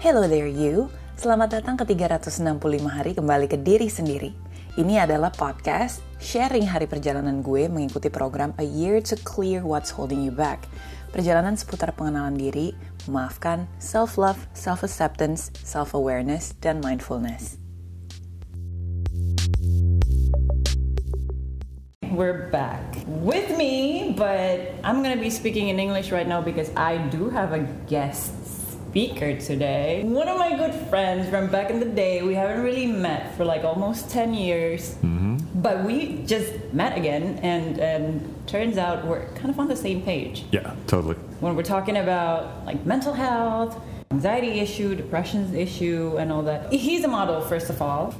Hello there you, selamat datang ke 365 hari kembali ke diri sendiri. Ini adalah podcast sharing hari perjalanan gue mengikuti program A Year to Clear What's Holding You Back. Perjalanan seputar pengenalan diri, memaafkan, self-love, self-acceptance, self-awareness, dan mindfulness. We're back with me, but I'm gonna be speaking in English right now because I do have a guest speaker today. One of my good friends from back in the day. We haven't really met for like almost 10 years, but we just met again, and turns out we're kind of on the same page. Yeah, totally. When we're talking about like mental health, anxiety issue, depression issue, and all that. He's a model, first of all.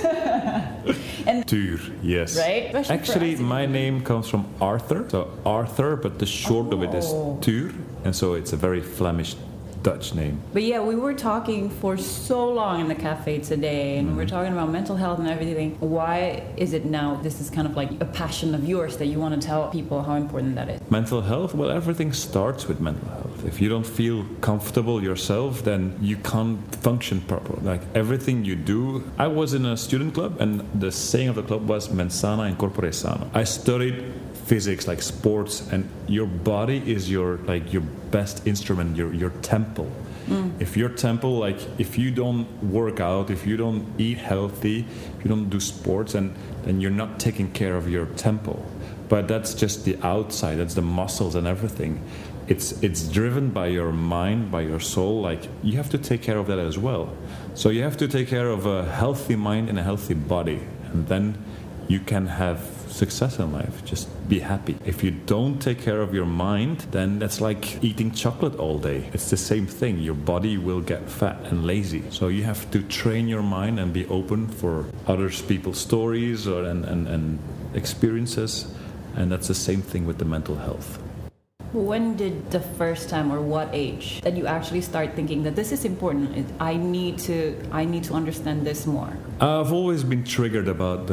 And Tuur, yes. Right? Actually, my name comes from Arthur. So Arthur, but the short of it is Tuur. And so it's a very Flemish Dutch name. But yeah, we were talking for so long in the cafe today, and we were talking about mental health and everything. Why is it now this is kind of like a passion of yours that you want to tell people how important that is? Mental health? Well, everything starts with mental health. If you don't feel comfortable yourself, then you can't function properly. Like everything you do. I was in a student club, and the saying of the club was mens sana in corpore sano. I studied physics, like sports, and your body is your best instrument, your temple. If your temple, like if you don't work out, if you don't eat healthy, if you don't do sports, and then you're not taking care of your temple. But that's just the outside, that's the muscles and everything. It's driven by your mind, by your soul. Like you have to take care of that as well. So you have to take care of a healthy mind and a healthy body, and then you can have success in life. Just be happy. If you don't take care of your mind, then that's like eating chocolate all day. It's the same thing. Your body will get fat and lazy. So you have to train your mind and be open for other people's stories and experiences. And that's the same thing with the mental health. When did the first time, or what age, that you actually start thinking that this is important? I need to understand this more. I've always been triggered about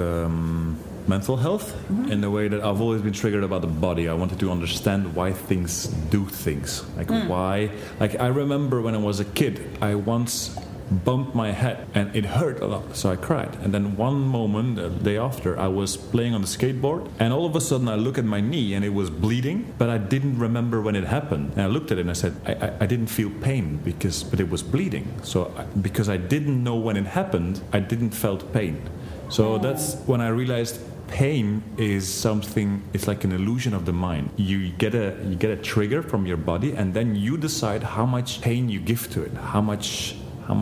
mental health in the way that I've always been triggered about the body. I wanted to understand why things do things. Like why. Like I remember when I was a kid, I once bumped my head and it hurt a lot, so I cried. And then one moment, the day after, I was playing on the skateboard, and all of a sudden I look at my knee and it was bleeding, but I didn't remember when it happened. And I looked at it and I said, I didn't feel pain but it was bleeding. So because I didn't know when it happened, I didn't felt pain. So that's when I realized pain is something, it's like an illusion of the mind. You get a trigger from your body, and then you decide how much pain you give to it, how much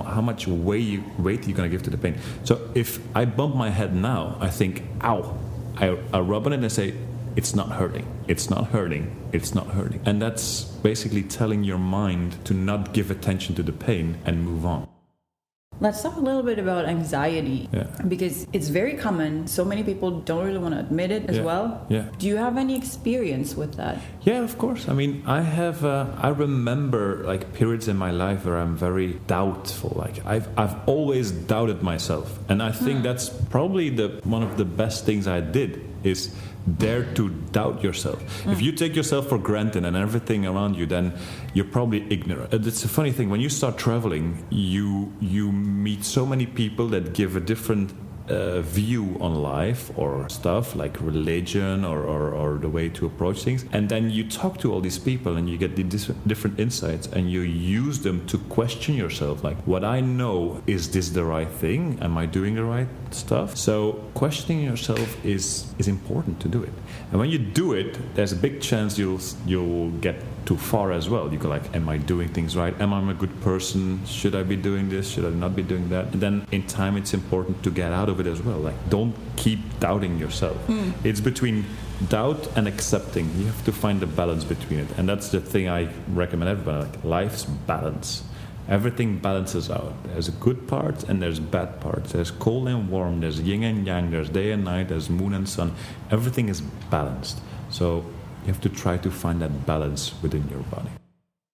weight you're going to give to the pain. So if I bump my head now, I think, ow. I rub on it and I say, it's not hurting, it's not hurting, it's not hurting. And that's basically telling your mind to not give attention to the pain and move on. Let's talk a little bit about anxiety, because it's very common. So many people don't really want to admit it as well. Yeah. Do you have any experience with that? Yeah, of course. I mean, I remember like periods in my life where I'm very doubtful. Like I've always doubted myself, and I think that's probably one of the best things I did is dare to doubt yourself. If you take yourself for granted and everything around you, then you're probably ignorant. It's a funny thing, when you start traveling, you meet so many people that give a different view on life or stuff like religion or the way to approach things, and then you talk to all these people and you get the different insights, and you use them to question yourself, like, what I know, is this the right thing? Am I doing the right stuff? So questioning yourself is important to do it, and when you do it, there's a big chance you'll get too far as well. You go like, am I doing things right? Am I a good person? Should I be doing this? Should I not be doing that? And then in time, it's important to get out of it as well. Like, don't keep doubting yourself. It's between doubt and accepting. You have to find the balance between it, and that's the thing I recommend everybody. Like, life's balance. Everything balances out. There's good parts and there's bad parts. There's cold and warm. There's yin and yang. There's day and night. There's moon and sun. Everything is balanced. So you have to try to find that balance within your body. And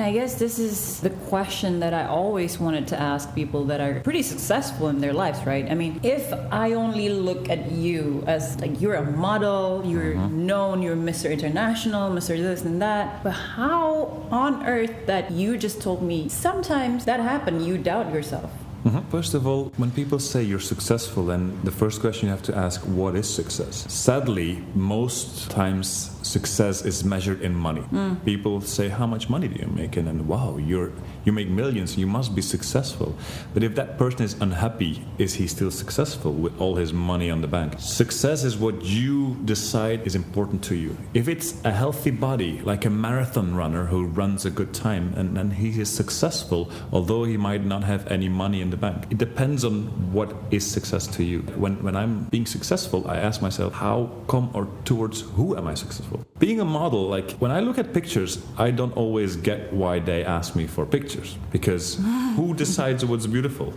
I guess this is the question that I always wanted to ask people that are pretty successful in their lives, right? I mean, if I only look at you as like you're a model, you're known, you're Mr. International, Mr. this and that, but how on earth that you just told me sometimes that happened, you doubt yourself? First of all, when people say you're successful, then the first question you have to ask, what is success? Sadly, most times success is measured in money. People say, how much money do you make? And then, wow, you make millions, you must be successful. But if that person is unhappy, is he still successful with all his money on the bank? Success is what you decide is important to you. If it's a healthy body, like a marathon runner who runs a good time, and then he is successful, although he might not have any money in the bank. It depends on what is success to you. When I'm being successful, I ask myself, how come or towards who am I successful? Being a model, like when I look at pictures, I don't always get why they ask me for pictures, because who decides what's beautiful?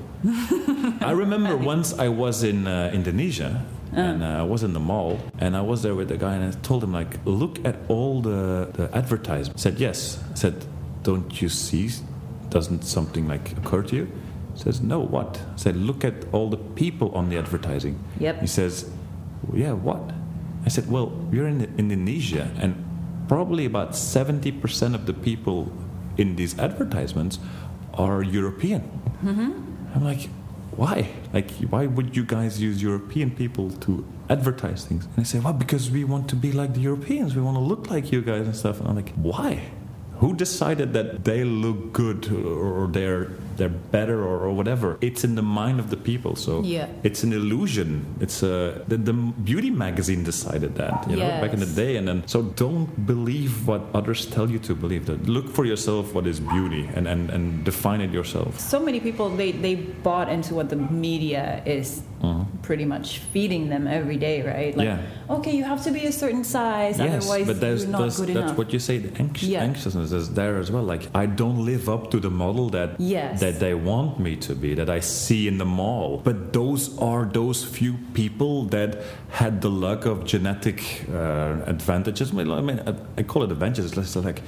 I remember once I was in Indonesia, and I was in the mall, and I was there with the guy, and I told him, like, look at all the advertisements. He said, yes. I said, don't you see? Doesn't something like occur to you? He says, no, what? I said, look at all the people on the advertising. Yep. He says, yeah, what? I said, well, you're in Indonesia, and probably about 70% of the people in these advertisements are European. I'm like, why? Like, why would you guys use European people to advertise things? And I say, well, because we want to be like the Europeans. We want to look like you guys and stuff. And I'm like, why? Who decided that they look good or they're better or whatever? It's in the mind of the people. So it's an illusion. It's the beauty magazine decided that, you know, back in the day. And then so don't believe what others tell you to believe. That look for yourself what is beauty and define it yourself. So many people they bought into what the media is pretty much feeding them every day, right? Like, okay, you have to be a certain size, otherwise you're not good enough. That's what you say. The anxiousness is there as well. Like, I don't live up to the model that they want me to be, that I see in the mall. But those are those few people that had the luck of genetic advantages. I mean, I call it advantages. It's like,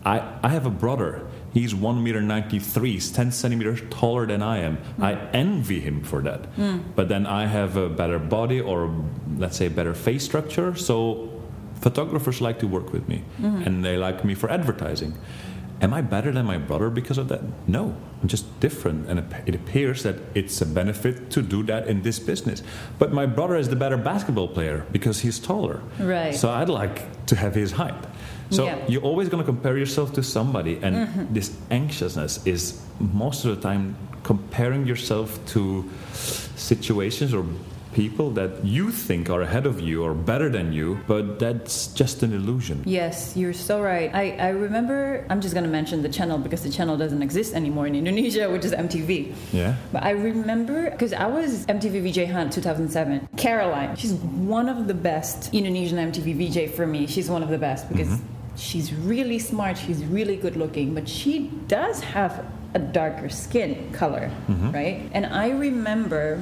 I have a brother. He's 1.93 m. He's 10 centimeters taller than I am. I envy him for that. But then I have a better body, or let's say better face structure. So photographers like to work with me, and they like me for advertising. Am I better than my brother because of that? No, I'm just different, and it appears that it's a benefit to do that in this business. But my brother is the better basketball player because he's taller. Right. So I'd like to have his height. So you're always going to compare yourself to somebody, and this anxiousness is most of the time comparing yourself to situations or people that you think are ahead of you or better than you, but that's just an illusion. Yes, you're so right. I remember, I'm just going to mention the channel because the channel doesn't exist anymore in Indonesia, which is MTV. Yeah. But I remember, because I was MTV VJ Hunt 2007. Caroline, she's one of the best Indonesian MTV VJ for me. She's one of the best because she's really smart, she's really good looking, but she does have a darker skin color, right? And I remember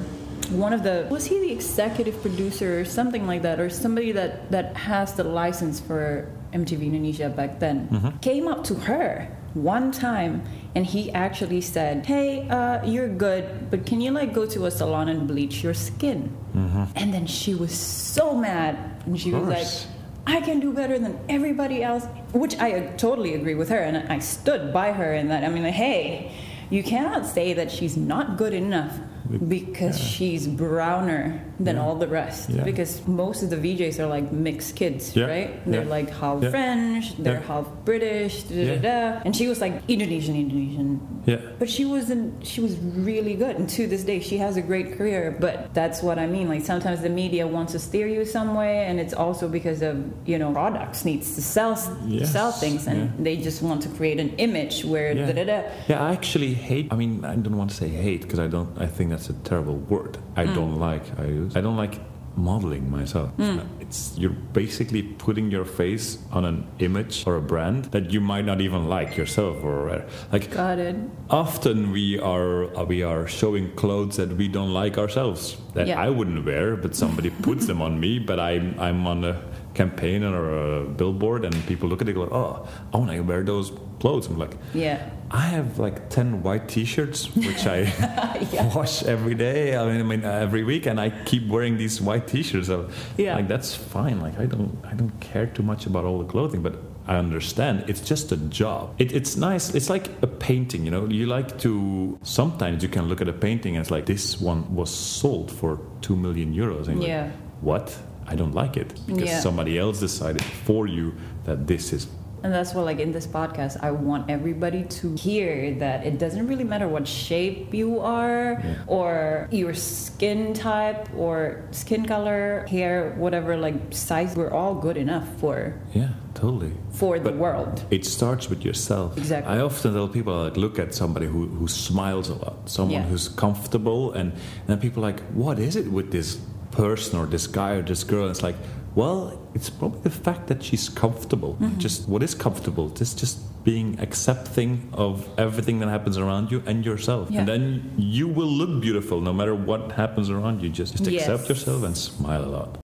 was he the executive producer or something like that, or somebody that has the license for MTV Indonesia back then, came up to her one time and he actually said, hey, you're good, but can you like go to a salon and bleach your skin? And then she was so mad, and she was like, I can do better than everybody else, which I totally agree with her, and I stood by her in that. I mean, like, hey, you cannot say that she's not good enough because she's browner than all the rest. Because most of the VJs are like mixed kids, right? They're like half French, they're half British, and she was like Indonesian. But she was really good, and to this day she has a great career. But that's what I mean. Like, sometimes the media wants to steer you some way, and it's also because of, you know, products needs to sell things, and they just want to create an image where I actually hate. I mean, I don't want to say hate because I think that's a terrible word. I don't like modeling myself. You're basically putting your face on an image or a brand that you might not even like yourself, or like. Got it. Often we are showing clothes that we don't like ourselves, that I wouldn't wear, but somebody puts them on me. But I'm on a campaign or a billboard, and people look at it and go, oh, I want to wear those clothes. I'm like, yeah. I have like 10 white t-shirts, which I wash every day. I mean, every week, and I keep wearing these white t-shirts. So, like, that's fine. Like, I don't care too much about all the clothing, but I understand it's just a job. It's nice. It's like a painting, you know. You like to, sometimes you can look at a painting and it's like, this one was sold for 2 million euros. And you're like, what? I don't like it because somebody else decided for you that this is. And that's why, like, in this podcast, I want everybody to hear that it doesn't really matter what shape you are or your skin type or skin color, hair, whatever, like, size. We're all good enough for... Yeah, totally. For the world. It starts with yourself. Exactly. I often tell people, like, look at somebody who smiles a lot, someone who's comfortable, and then people are like, what is it with this person or this guy or this girl? And it's like, well, it's probably the fact that she's comfortable. Just what is comfortable? Just being accepting of everything that happens around you and yourself. And then you will look beautiful no matter what happens around you. Just accept yourself and smile a lot.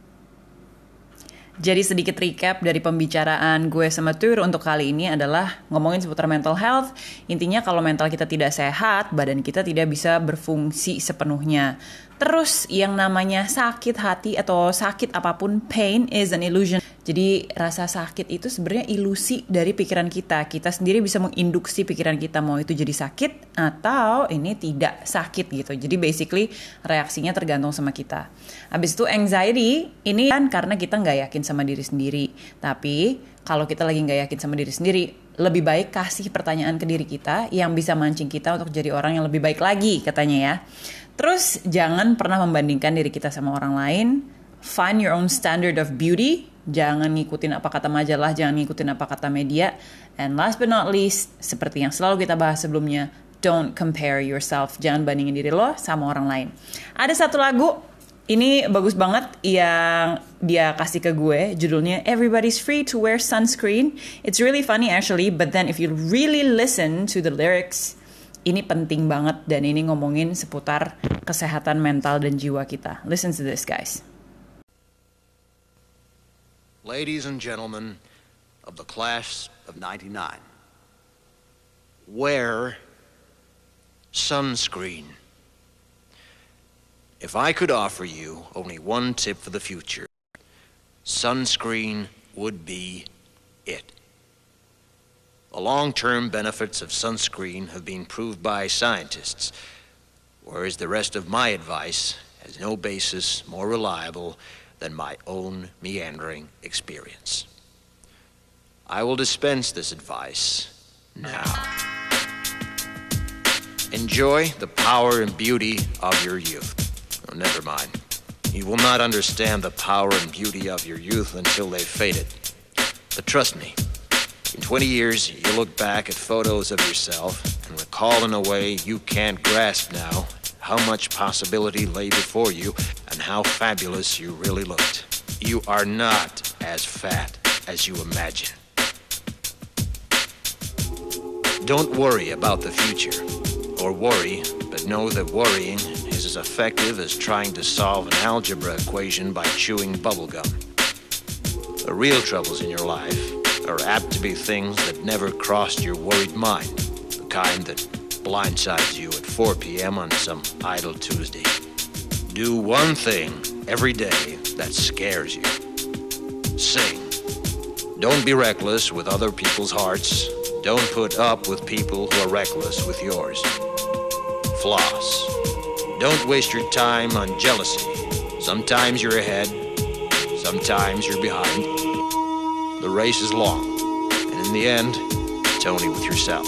Jadi sedikit recap dari pembicaraan gue sama Tur untuk kali ini adalah ngomongin seputar mental health. Intinya kalau mental kita tidak sehat, badan kita tidak bisa berfungsi sepenuhnya. Terus yang namanya sakit hati atau sakit apapun, pain is an illusion. Jadi rasa sakit itu sebenarnya ilusi dari pikiran kita. Kita sendiri bisa menginduksi pikiran kita mau itu jadi sakit atau ini tidak sakit gitu. Jadi basically reaksinya tergantung sama kita. Habis itu anxiety ini kan karena kita nggak yakin sama diri sendiri. Tapi kalau kita lagi nggak yakin sama diri sendiri, lebih baik kasih pertanyaan ke diri kita yang bisa mancing kita untuk jadi orang yang lebih baik lagi katanya ya. Terus jangan pernah membandingkan diri kita sama orang lain. Find your own standard of beauty. Jangan ngikutin apa kata majalah, jangan ngikutin apa kata media. And last but not least, seperti yang selalu kita bahas sebelumnya, don't compare yourself. Jangan bandingin diri lo sama orang lain. Ada satu lagu, ini bagus banget yang dia kasih ke gue. Judulnya Everybody's Free to Wear Sunscreen. It's really funny actually, but then if you really listen to the lyrics, ini penting banget dan ini ngomongin seputar kesehatan mental dan jiwa kita. Listen to this, guys. Ladies and gentlemen of the class of 99, wear sunscreen. If I could offer you only one tip for the future, sunscreen would be it. The long-term benefits of sunscreen have been proved by scientists, whereas the rest of my advice has no basis more reliable than my own meandering experience. I will dispense this advice now. Enjoy the power and beauty of your youth. Oh, never mind. You will not understand the power and beauty of your youth until they've faded. But trust me, in 20 years, you'll look back at photos of yourself and recall in a way you can't grasp now how much possibility lay before you and how fabulous you really looked. You are not as fat as you imagine. Don't worry about the future, or worry, but know that worrying is as effective as trying to solve an algebra equation by chewing bubblegum. The real troubles in your life are apt to be things that never crossed your worried mind, the kind that blindsides you at 4 p.m. on some idle Tuesday. Do one thing every day that scares you. Sing. Don't be reckless with other people's hearts. Don't put up with people who are reckless with yours. Floss. Don't waste your time on jealousy. Sometimes you're ahead, sometimes you're behind. The race is long, and in the end, it's only with yourself.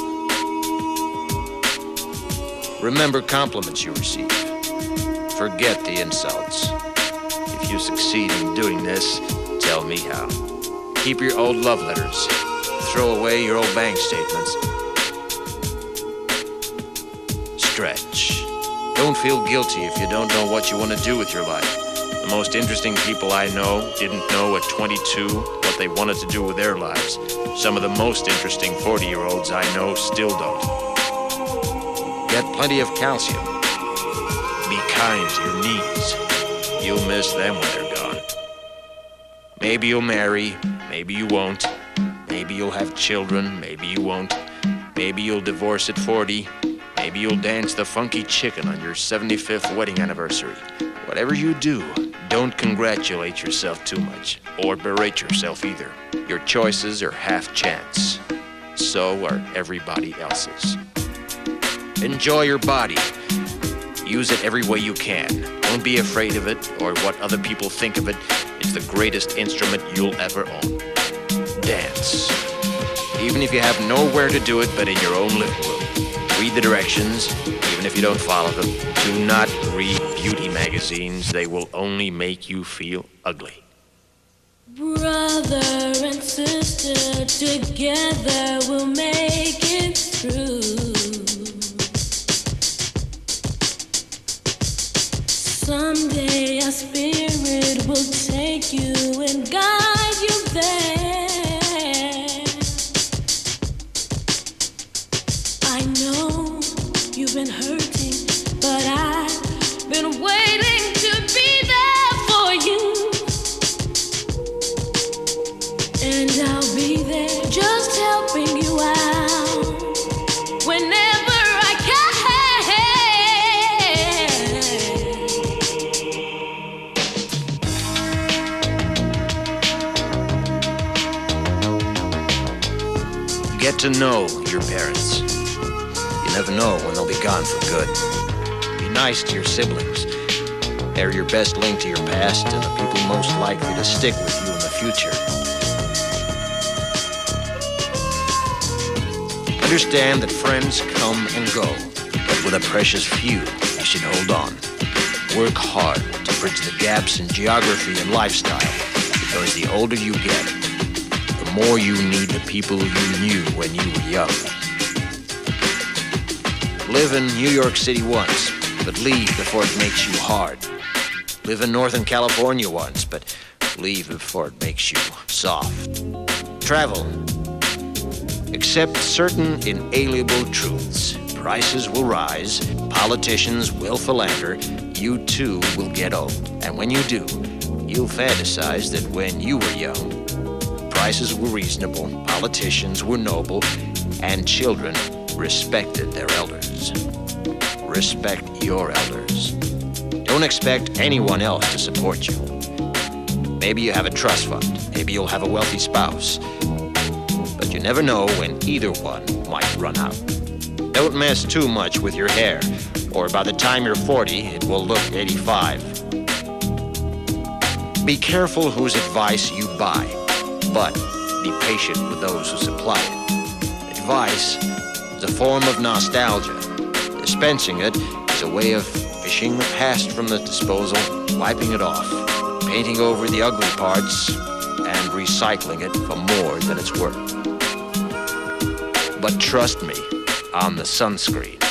Remember compliments you receive. Forget the insults. If you succeed in doing this, tell me how. Keep your old love letters. Throw away your old bank statements. Stretch. Don't feel guilty if you don't know what you want to do with your life. The most interesting people I know didn't know at 22 what they wanted to do with their lives. Some of the most interesting 40-year-olds I know still don't. Get plenty of calcium. Be kind to your knees. You'll miss them when they're gone. Maybe you'll marry, maybe you won't. Maybe you'll have children, maybe you won't. Maybe you'll divorce at 40. Maybe you'll dance the funky chicken on your 75th wedding anniversary. Whatever you do, don't congratulate yourself too much, or berate yourself either. Your choices are half chance. So are everybody else's. Enjoy your body. Use it every way you can. Don't be afraid of it or what other people think of it. It's the greatest instrument you'll ever own. Dance. Even if you have nowhere to do it but in your own living room. Read the directions, even if you don't follow them. Do not read beauty magazines. They will only make you feel ugly. Brother and sister, together we'll make it through. Someday our spirit will take you and guide you there. I know you've been hurting, but I've been waiting to be there for you. And I'll be there just helping you out whenever I can. Get to know your parents. You never know when they'll be gone for good. Be nice to your siblings. They're your best link to your past and the people most likely to stick with you in the future. Understand that friends come and go, but with a precious few, you should hold on. Work hard to bridge the gaps in geography and lifestyle, because the older you get, the more you need the people you knew when you were young. Live in New York City once, but leave before it makes you hard. Live in Northern California once, but leave before it makes you soft. Travel. Accept certain inalienable truths. Prices will rise, politicians will philander, you too will get old. And when you do, you'll fantasize that when you were young, prices were reasonable, politicians were noble, and children respected their elders. Respect your elders. Don't expect anyone else to support you. Maybe you have a trust fund. Maybe you'll have a wealthy spouse. But you never know when either one might run out. Don't mess too much with your hair, or by the time you're 40, it will look 85. Be careful whose advice you buy, but be patient with those who supply it. Advice is a form of nostalgia. Dispensing it is a way of fishing the past from the disposal, wiping it off, painting over the ugly parts, and recycling it for more than it's worth. But trust me on the sunscreen.